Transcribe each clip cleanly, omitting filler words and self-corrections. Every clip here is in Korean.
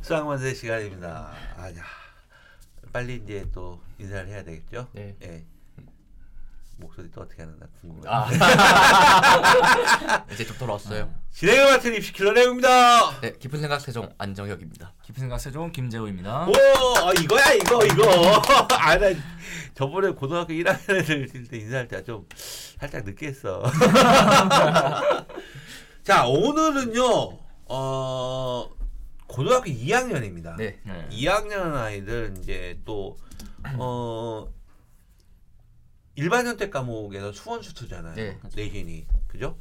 수학만세 시간입니다. 아야, 빨리 이제 또 인사를 해야 되겠죠? 네. 예. 목소리 또 어떻게 하는가 궁금해요. 이제 좀 돌아왔어요. 진행을 맡은 입시 킬러 내용입니다. 네, 깊은 생각 세종 안정혁입니다. 깊은 생각 세종 김재호입니다. 오, 이거야 이거. 아, 나 저번에 고등학교 1학년 애들 때 인사할 때 좀 살짝 늦게 했어. 자, 오늘은요. 고등학교 2학년입니다. 네. 2학년 아이들 이제 또 일반 선택 과목에서 수원 수투잖아요. 네. 내신이. 그죠?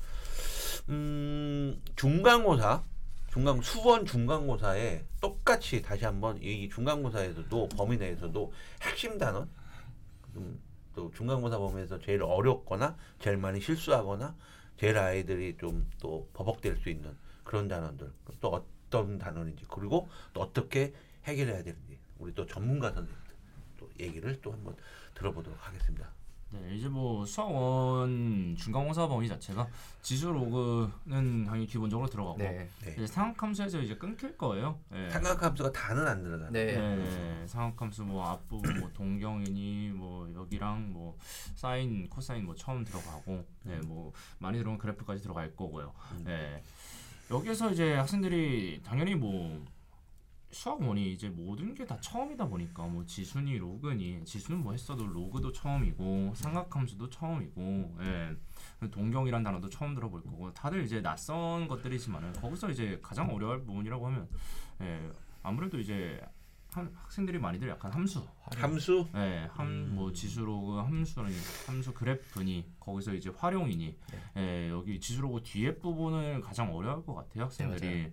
중간고사, 수원 중간고사에 똑같이 다시 한번 이 중간고사에서도 범위 내에서도 핵심 단원, 또 중간고사 범위에서 제일 어렵거나 제일 많이 실수하거나 제일 아이들이 좀 또 버벅될 수 있는 그런 단원들, 또 어떤 단원인지, 그리고 또 어떻게 해결해야 되는지 우리 또 전문가 선생님들 또 얘기를 또 한번 들어보도록 하겠습니다. 네, 이제 뭐 수학원 중간고사 범위 자체가 지수 로그는 당연히 기본적으로 들어가고 네. 이제 상학함수에서 이제 끊길 거예요. 네. 삼각함수가 다는 안 들어가요. 네. 상학함수 뭐 앞부분 뭐 동경이니 뭐 여기랑 뭐 사인, 코사인 뭐 처음 들어가고, 뭐 많이 들어온 그래프까지 들어갈 거고요. 여기에서 이제 학생들이 당연히 뭐 수학원이 이제 모든 게 다 처음이다 보니까 뭐 지수니 로그니, 지수는 뭐 했어도 로그도 처음이고 삼각함수도 처음이고, 동경이란 단어도 처음 들어볼 거고, 다들 이제 낯선 것들이지만은 거기서 이제 가장 어려울 부분이라고 하면 아무래도 이제 학생들이 많이들 약간 함수, 뭐 지수 로그 함수 그래프니, 거기서 이제 활용이니, 여기 지수 로그 뒤에 부분을 가장 어려워할 것 같아요, 학생들이.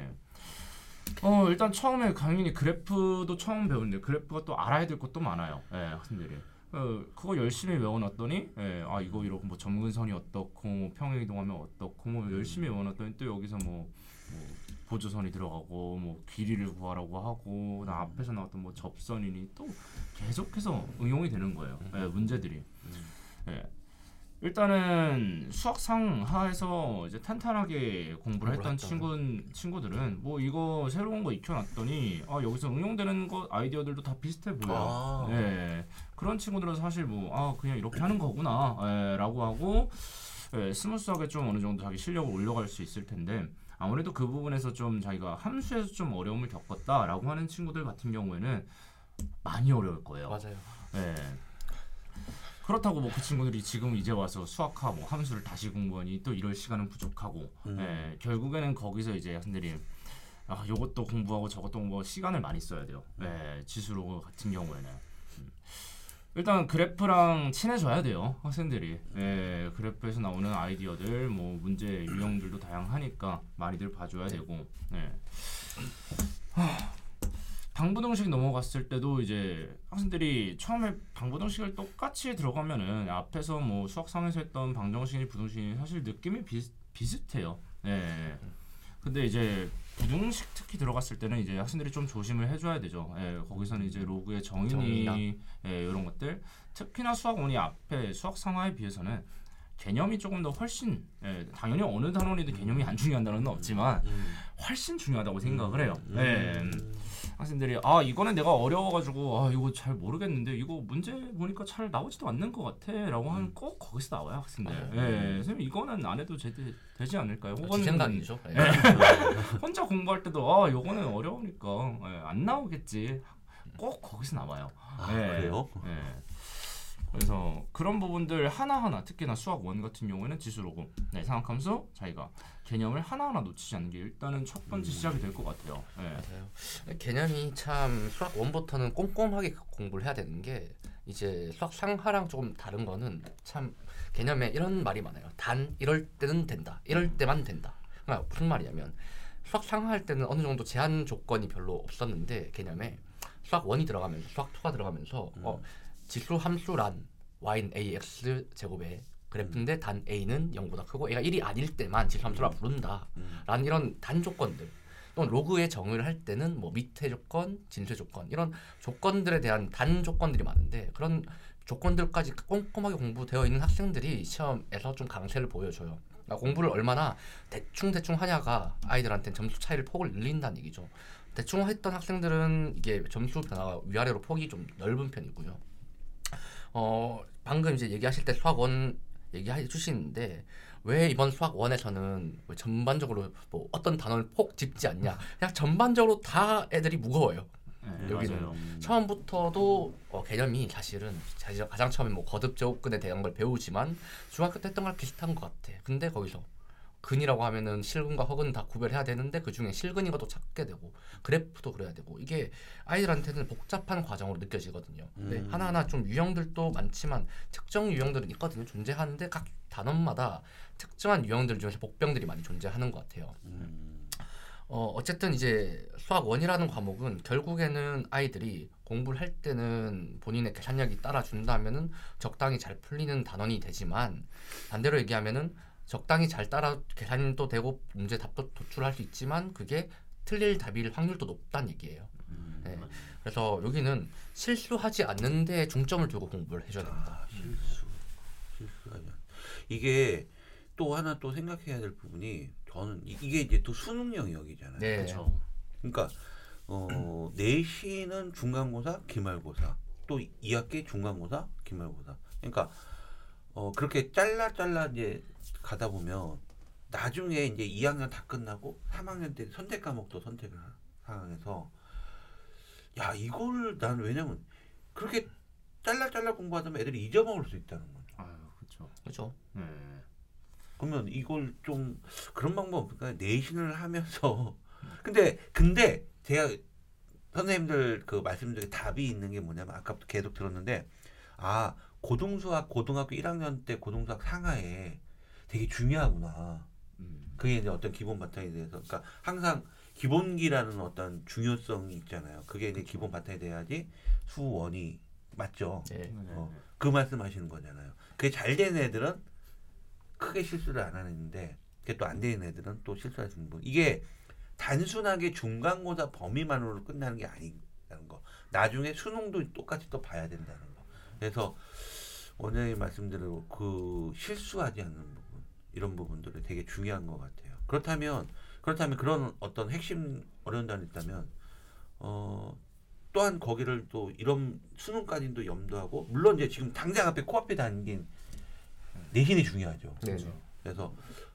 일단 처음에 당연히 그래프도 처음 배우는데 그래프가 또 알아야 될 것도 많아요. 학생들이. 그거 열심히 외워놨더니 이거 이렇고 뭐 점근선이 어떻고 뭐 평행 이동하면 어떻고 뭐 열심히 외워놨더니 또 여기서 뭐 보조선이 들어가고 뭐 길이를 구하라고 하고 앞에서 나왔던 뭐 접선이니 또 계속해서 응용이 되는 거예요. 문제들이. 일단은 수학 상하에서 이제 탄탄하게 공부를 했던 친구들은 뭐 이거 새로운 거 익혀놨더니 여기서 응용되는 거 아이디어들도 다 비슷해 보여요. 그런 친구들은 사실 뭐 그냥 이렇게 하는 거구나 라고 하고 스무스하게 좀 어느 정도 자기 실력을 올려갈 수 있을 텐데, 아무래도 그 부분에서 좀 자기가 함수에서 좀 어려움을 겪었다라고 하는 친구들 같은 경우에는 많이 어려울 거예요. 맞아요. 그렇다고 뭐 그 친구들이 지금 이제 와서 수학하 뭐 함수를 다시 공부하니 또 이럴 시간은 부족하고, 결국에는 거기서 이제 학생들이 요것도 공부하고 저것도 공부하고 시간을 많이 써야 돼요. 지수로 같은 경우에는 일단 그래프랑 친해져야 돼요, 학생들이. 그래프에서 나오는 아이디어들, 뭐 문제 유형들도 다양하니까 많이들 봐줘야 되고. 방부등식 넘어갔을 때도 이제 학생들이 처음에 방부등식을 똑같이 들어가면은 앞에서 뭐 수학상에서 했던 방정식이 부등식이 사실 느낌이 비슷해요. 근데 이제 부등식 특히 들어갔을 때는 이제 학생들이 좀 조심을 해줘야 되죠. 거기서는 이제 로그의 정의니 이런 것들, 특히나 수학원이 앞에 수학상하에 비해서는 개념이 조금 더 훨씬, 당연히 어느 단원이든 개념이 안 중요한 단원은 없지만 훨씬 중요하다고 생각을 해요. 학생들이 이거는 내가 어려워가지고 이거 잘 모르겠는데 이거 문제 보니까 잘 나오지도 않는 것 같아 라고 하면 꼭 거기서 나와요, 학생들. 선생님 이거는 안 해도 되지 않을까요? 혹은 생각이죠. 혼자 공부할 때도 이거는 어려우니까 안 나오겠지, 꼭 거기서 나와요. 그래요? 그래서 그런 부분들 하나하나, 특히나 수학 1 같은 경우에는 지수로고 상학함수 자기가 개념을 하나하나 놓치지 않는 게 일단은 첫 번째 시작이 될 것 같아요. 맞아요. 개념이 참 수학 1부터는 꼼꼼하게 공부를 해야 되는 게, 이제 수학 상하랑 조금 다른 거는 참 개념에 이런 말이 많아요. 단 이럴 때는 된다, 이럴 때만 된다. 그러니까 무슨 말이냐면 수학 상하 할 때는 어느 정도 제한 조건이 별로 없었는데 개념에 수학 1이 들어가면서 수학 2가 들어가면서 지수 함수란 y는 ax 제곱의 그래프인데 단 a는 0보다 크고 a가 1이 아닐 때만 지수 함수라 부른다 라는 이런 단 조건들, 또는 로그의 정의를 할 때는 뭐 밑의 조건, 진수의 조건, 이런 조건들에 대한 단 조건들이 많은데, 그런 조건들까지 꼼꼼하게 공부되어 있는 학생들이 시험에서 좀 강세를 보여줘요. 그러니까 공부를 얼마나 대충 하냐가 아이들한테는 점수 차이를 폭을 늘린다는 얘기죠. 대충 했던 학생들은 이게 점수 변화가 위아래로 폭이 좀 넓은 편이고요. 방금 이제 얘기하실 때 수학 원 얘기해 주시는데 왜 이번 수학 원에서는 뭐 전반적으로 뭐 어떤 단원을 폭 짚지 않냐? 그냥 전반적으로 다 애들이 무거워요. 네, 여기는 맞아요. 처음부터도 개념이 사실은 가장 처음에 뭐 거듭 제곱근에 대한 걸 배우지만 중학교 때 했던 거랑 비슷한 것 같아. 근데 거기서 근이라고 하면은 실근과 허근 다 구별해야 되는데 그 중에 실근인 것도 찾게 되고 그래프도 그래야 되고 이게 아이들한테는 복잡한 과정으로 느껴지거든요. 근데 하나하나 좀 유형들도 많지만 특정 유형들은 있거든요. 존재하는데 각 단원마다 특정한 유형들 중에서 복병들이 많이 존재하는 것 같아요. 어쨌든 이제 수학 원이라는 과목은 결국에는 아이들이 공부를 할 때는 본인의 계산력이 따라준다면은 적당히 잘 풀리는 단원이 되지만 반대로 얘기하면은 적당히 잘 따라 계산도 되고 문제 답도 도출할 수 있지만 그게 틀릴 답일 확률도 높다는 얘기예요. 네. 그래서 여기는 실수하지 않는 데 중점을 두고 공부를 해줘야 됩니다. 실수하지 않. 이게 또 하나 또 생각해야 될 부분이 저는 이게 이제 또 수능 영역이잖아요. 네. 그렇죠. 그러니까 내신은 중간고사, 기말고사, 또 2학기 중간고사, 기말고사. 그러니까 그렇게 잘라 이제 가다 보면 나중에 이제 2학년 다 끝나고 3학년 때 선택 과목도 선택을 한 상황에서 야 이걸 난 왜냐면 그렇게 잘라 공부하다 보면 애들이 잊어먹을 수 있다는 거죠. 아유, 그렇죠. 그렇죠. 네. 그러면 이걸 좀 그런 방법 없을까요? 내신을 하면서 근데 제가 선생님들 그 말씀 중에 답이 있는 게 뭐냐면 아까부터 계속 들었는데 고등수학 고등학교 1학년 때 고등수학 상하에 되게 중요하구나. 그게 이제 어떤 기본 바탕에 대해서 그러니까 항상 기본기라는 어떤 중요성이 있잖아요. 그게 이제 기본 바탕이 돼야지 수원이 맞죠. 네. 그 말씀하시는 거잖아요. 그게 잘 된 애들은 크게 실수를 안 하는데 그게 또 안 되는 애들은 또 실수할 수 있는 부분. 이게 단순하게 중간고사 범위만으로 끝나는 게 아니라는 거. 나중에 수능도 똑같이 또 봐야 된다는 거. 그래서 원장님 말씀대로 그 실수하지 않는 부분 이런 부분들이 되게 중요한 것 같아요. 그렇다면 그런 어떤 핵심 어려운 단이 있다면 또한 거기를 또 이런 수능까지도 염두하고 물론 이제 지금 당장 앞에 코앞에 담긴 내신이 중요하죠. 네. 그래서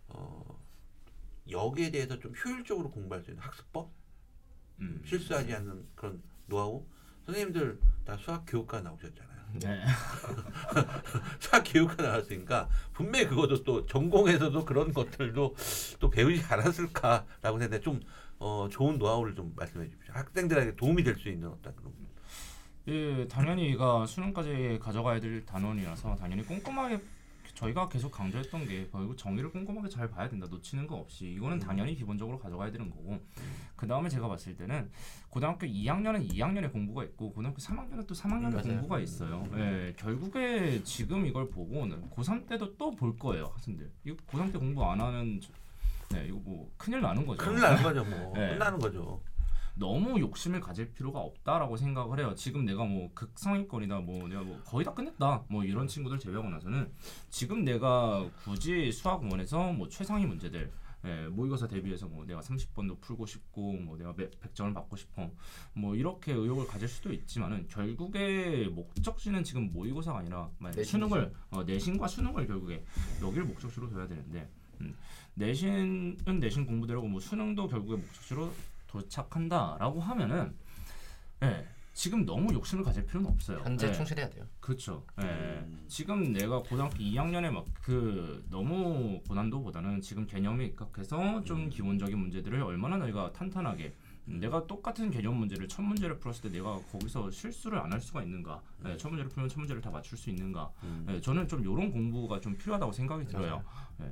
여기에 대해서 좀 효율적으로 공부할 수 있는 학습법, 실수하지 않는 그런 노하우. 선생님들 다 수학 교육과 나오셨잖아요. 네. 수학 교육과 나왔으니까 분명히 그것도 또 전공에서도 그런 것들도 또 배우지 않았을까라고 생각해 좀 좋은 노하우를 좀 말씀해 주십시오. 학생들에게 도움이 될 수 있는 어떤 그런. 예, 당연히 이가 수능까지 가져가야 될 단원이라서 당연히 꼼꼼하게 저희가 계속 강조했던 게 그리고 정의를 꼼꼼하게 잘 봐야 된다. 놓치는 거 없이 이거는 당연히 기본적으로 가져가야 되는 거고 그 다음에 제가 봤을 때는 고등학교 2학년은 2학년의 공부가 있고 고등학교 3학년은 또 3학년의 맞아요. 공부가 있어요. 예, 결국에 지금 이걸 보고는 고3 때도 또 볼 거예요 학생들. 이거 고3 때 공부 안 하는 네 이거 뭐 큰일 나는 거죠. 큰일 나는 거죠, 뭐. 네. 끝나는 거죠. 너무 욕심을 가질 필요가 없다라고 생각을 해요. 지금 내가 뭐 극상위권이다, 뭐 내가 뭐 거의 다 끝냈다, 뭐 이런 친구들 제외하고 나서는 지금 내가 굳이 수학 원에서 뭐 최상위 문제들, 모의고사 대비해서 뭐 내가 30번도 풀고 싶고, 뭐 내가 100점을 받고 싶어, 뭐 이렇게 의욕을 가질 수도 있지만은 결국에 목적지는 지금 모의고사가 아니라 수능을 내신과 수능을 결국에 여기를 목적지로 둬야 되는데 내신은 내신 공부대로고 뭐 수능도 결국에 목적지로 도착한다라고 하면은 지금 너무 욕심을 가질 필요는 없어요. 현재 충실해야 돼요. 그렇죠. 지금 내가 고등학교 2학년에 막 그 너무 고난도보다는 지금 개념에 입각해서 좀 기본적인 문제들을 얼마나 내가 탄탄하게 내가 똑같은 개념 문제를 첫 문제를 풀었을 때 내가 거기서 실수를 안 할 수가 있는가? 첫 문제를 풀면 첫 문제를 다 맞출 수 있는가? 저는 좀 이런 공부가 좀 필요하다고 생각이 들어요.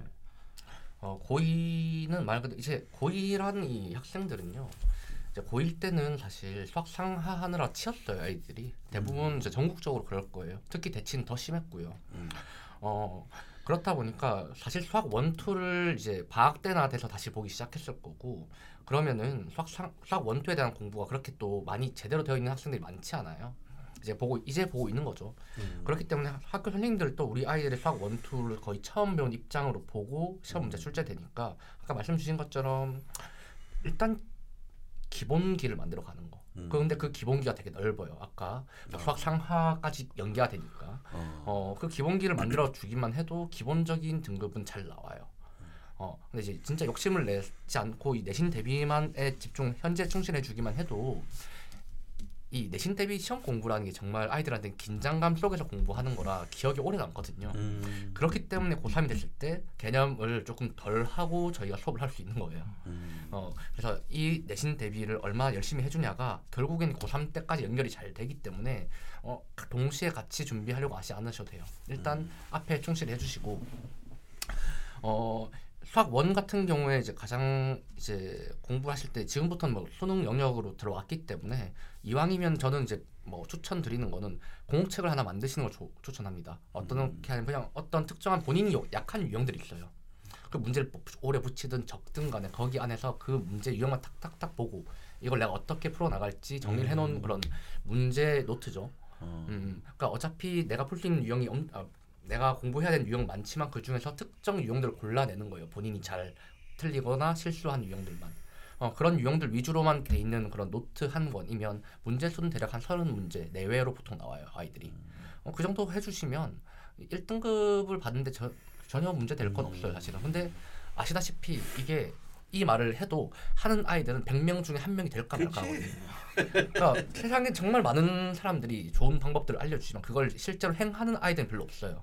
고2는 말 그대로 이제 고2라는 이 학생들은요. 이제 고1 때는 사실 수학 상하하느라 치였어요 아이들이. 대부분 이제 전국적으로 그럴 거예요. 특히 대치는 더 심했고요. 그렇다 보니까 사실 수학 1, 2를 이제 방학 때나 돼서 다시 보기 시작했을 거고 그러면은 수학 1, 2에 대한 공부가 그렇게 또 많이 제대로 되어 있는 학생들이 많지 않아요. 이제 보고 있는 거죠. 그렇기 때문에 학교 선생님들도 우리 아이들의 수학 1, 2를 거의 처음 배운 입장으로 보고 시험 문제 출제되니까 아까 말씀 주신 것처럼 일단 기본기를 만들어 가는 거. 근데 그 기본기가 되게 넓어요. 아까 수학 상하까지 연계가 되니까. 그 기본기를 만들어 주기만 해도 기본적인 등급은 잘 나와요. 근데 이제 진짜 욕심을 내지 않고 이 내신 대비만에 현재 충실해 주기만 해도 이 내신 대비 시험 공부라는 게 정말 아이들한테 긴장감 속에서 공부하는 거라 기억이 오래 남거든요. 그렇기 때문에 고3이 됐을 때 개념을 조금 덜 하고 저희가 수업을 할 수 있는 거예요. 그래서 이 내신 대비를 얼마나 열심히 해주냐가 결국엔 고3 때까지 연결이 잘 되기 때문에 동시에 같이 준비하려고 하지 않으셔도 돼요. 일단 앞에 충실히 해주시고 수학 1 같은 경우에 이제 가장 이제 공부하실 때 지금부터는 뭐 수능 영역으로 들어왔기 때문에 이왕이면 저는 이제 뭐 추천드리는 거는 공책을 하나 만드시는 걸 추천합니다. 어떻게 하냐면 그냥 어떤 특정한 본인이 약한 유형들이 있어요. 그 문제를 오래 붙이든 적든 간에 거기 안에서 그 문제 유형만 탁탁탁 보고 이걸 내가 어떻게 풀어나갈지 정리를 해놓은 그런 문제 노트죠. 그러니까 어차피 내가 풀 수 있는 유형이 내가 공부해야 되는 유형 많지만 그 중에서 특정 유형들을 골라내는 거예요. 본인이 잘 틀리거나 실수한 유형들만. 그런 유형들 위주로만 돼 있는 그런 노트 한 권이면 문제 수는 대략 한 30문제 내외로 보통 나와요. 아이들이. 그 정도 해주시면 1등급을 받는데 전혀 문제 될 건 없어요. 사실은. 근데 아시다시피 이게 이 말을 해도 하는 아이들은 100명 중에 1명이 될까 말까 하거든요. 그러니까 세상에 정말 많은 사람들이 좋은 방법들을 알려주지만 그걸 실제로 행하는 아이들은 별로 없어요.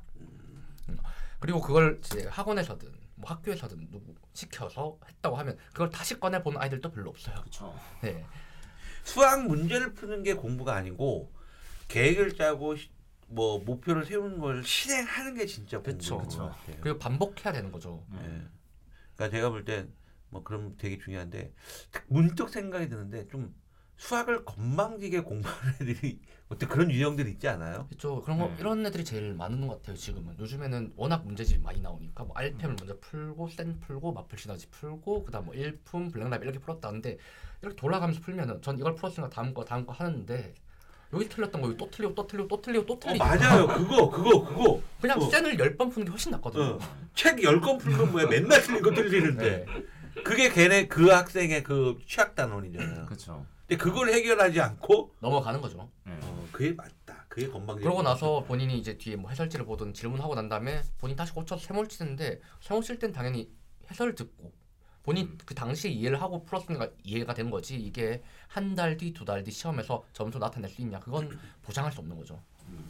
그리고 그걸 이제 학원에서든 뭐 학교에서든 누구 시켜서 했다고 하면 그걸 다시 꺼내보는 아이들도 별로 없어요. 그렇죠. 네. 수학 문제를 푸는 게 공부가 아니고 계획을 짜고 뭐 목표를 세우는 걸 실행하는 게 진짜 공부인 것 같아요. 그리고 반복해야 되는 거죠. 그러니까 제가 볼 땐 뭐 그럼 되게 중요한데 문득 생각이 드는데 좀 수학을 건방지게 공부하는 애들이 어떤 그런 유형들이 있지 않아요? 그렇죠. 그런 거 이런 애들이 제일 많은 것 같아요. 지금은 요즘에는 워낙 문제집이 많이 나오니까 뭐 RPM을 먼저 풀고 센 풀고 마플 시너지 풀고 그다음 뭐 일품 블랙라벨 이렇게 풀었다는데 이렇게 돌아가면서 풀면은 전 이걸 풀었으니까 다음 거 하는데 여기 틀렸던 거 여기 또 틀리고 또 틀리고 또 틀리고 또 틀리고 맞아요. 그거 그냥 센을 10번 푸는 게 훨씬 낫거든요. 책 10권 풀면 뭐야 맨날 틀린 거 틀리는데 그게 걔네 그 학생의 그 취약 단원이잖아요. 그렇죠. 근데 그걸 해결하지 않고 넘어가는 거죠. 그게 맞다. 그게 건방지. 그러고 나서 본인이 이제 뒤에 뭐 해설지를 보든 질문하고 난 다음에 본인 다시 고쳐서 세몰 치는데 세몰 칠 땐 당연히 해설을 듣고 본인 그 당시에 이해를 하고 풀었으니까 이해가 된 거지 이게 한 달 뒤, 2달 뒤 시험에서 점수 나타낼 수 있냐 그건 보장할 수 없는 거죠.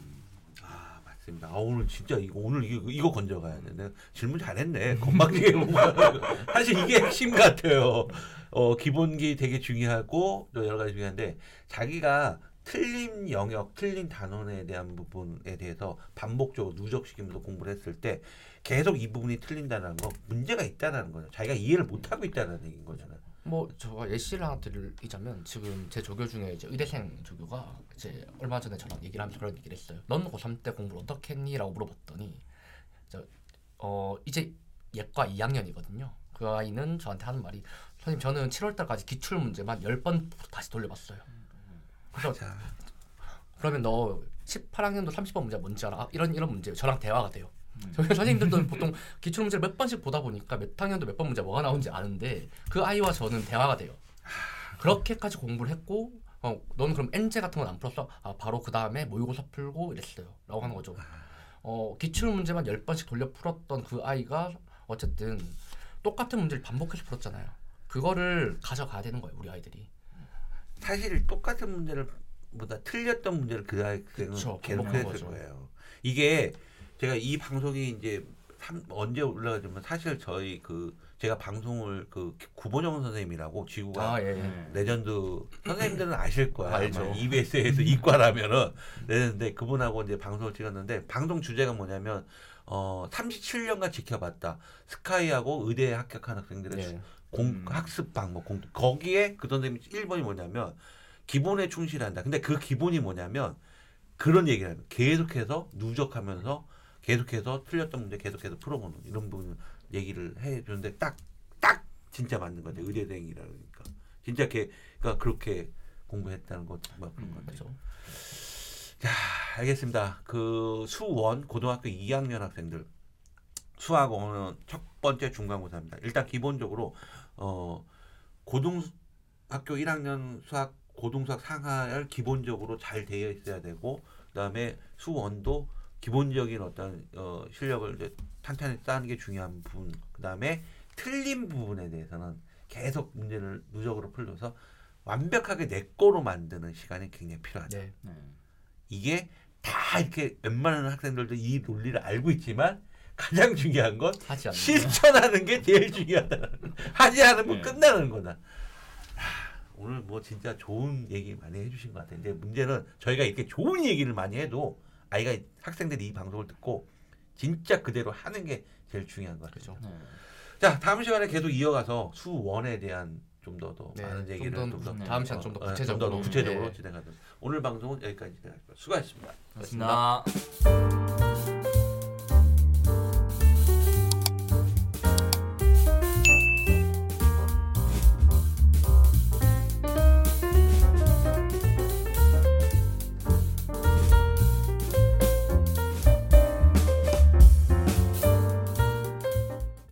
맞습니다. 오늘 진짜 오늘 이거 건져가야 돼. 내가 질문 잘했네. 건방지게 사실 이게 핵심 같아요. 기본기 되게 중요하고 또 여러 가지 중요한데 자기가 틀린 영역, 틀린 단원에 대한 부분에 대해서 반복적으로 누적시키면서 공부를 했을 때 계속 이 부분이 틀린다는 거 문제가 있다는 거죠. 자기가 이해를 못하고 있다는 얘기인 거잖아요. 뭐 제가 예시를 하나 드리자면 지금 제 조교 중에 이제 의대생 조교가 이제 얼마 전에 저랑 얘기를 하면서 그런 얘기를 했어요. 넌 고3 때 공부를 어떻게 했니? 라고 물어봤더니 이제 예과 2학년이거든요. 그 아이는 저한테 하는 말이 선생님 저는 7월달까지 기출문제만 10번 다시 돌려봤어요. 그래서 그러면 너 18학년도 30번 문제 뭔지 알아? 이런 문제예요. 저랑 대화가 돼요. 저희 선생님들도 보통 기출문제를 몇 번씩 보다 보니까 몇 학년도 몇 번 문제 뭐가 나오는지 아는데 그 아이와 저는 대화가 돼요. 그렇게까지 공부를 했고 너는 그럼 N제 같은 건 안 풀었어? 바로 그 다음에 모의고사 풀고 이랬어요. 라고 하는 거죠. 기출문제만 10번씩 돌려 풀었던 그 아이가 어쨌든 똑같은 문제를 반복해서 풀었잖아요. 그거를 가져가야 되는 거예요. 우리 아이들이. 사실 똑같은 문제를 보다 틀렸던 문제를 그 학생은 계속 했을 거예요. 이게 제가 이 방송이 이제 언제 올라가지만 사실 저희 제가 방송을 구본영 선생님이라고 지구가 레전드 선생님들은 아실 거야. 알죠. EBS에서 이과라면은 레전드인데 그분하고 이제 방송을 찍었는데 방송 주제가 뭐냐면 37년간 지켜봤다. 스카이하고 의대에 합격한 학생들의 학습 방법 거기에 그 선생님 1번이 뭐냐면 기본에 충실한다. 근데 그 기본이 뭐냐면 그런 얘기를 하면 계속해서 누적하면서 계속해서 틀렸던 문제 계속해서 풀어보는 이런 부분 얘기를 해주는데 딱 진짜 맞는 거죠. 의대생이라니까 진짜 그러니까 그렇게 공부했다는 것 그런 것 같아요. 자, 알겠습니다. 그 수원 고등학교 2학년 학생들 수학 오늘 첫 번째 중간고사입니다. 일단 기본적으로 학교 1학년 수학 고등수학 상하를 기본적으로 잘 되어 있어야 되고 그다음에 수원도 기본적인 어떤 실력을 이제 탄탄히 쌓는 게 중요한 부분. 그다음에 틀린 부분에 대해서는 계속 문제를 누적으로 풀려서 완벽하게 내 거로 만드는 시간이 굉장히 필요하다. 네. 네. 이게 다 이렇게 웬만한 학생들도 이 논리를 알고 있지만 가장 중요한 건 하지 않는 실천하는 게 제일 중요하다. 하지 않으면 네. 끝나는 거다. 오늘 뭐 진짜 좋은 얘기 많이 해주신 것 같아요. 근데 문제는 저희가 이렇게 좋은 얘기를 많이 해도 아이가 학생들이 이 방송을 듣고 진짜 그대로 하는 게 제일 중요한 것 같아요. 그렇죠. 네. 자 다음 시간에 계속 이어가서 수원에 대한 좀 더 네, 많은 얘기를 좀 더 네. 다음 시간 좀 더 좀 구체적으로 더 구체적으로 네. 진행하도록. 오늘 방송은 여기까지 진행할게요. 수고하셨습니다. 고맙습니다.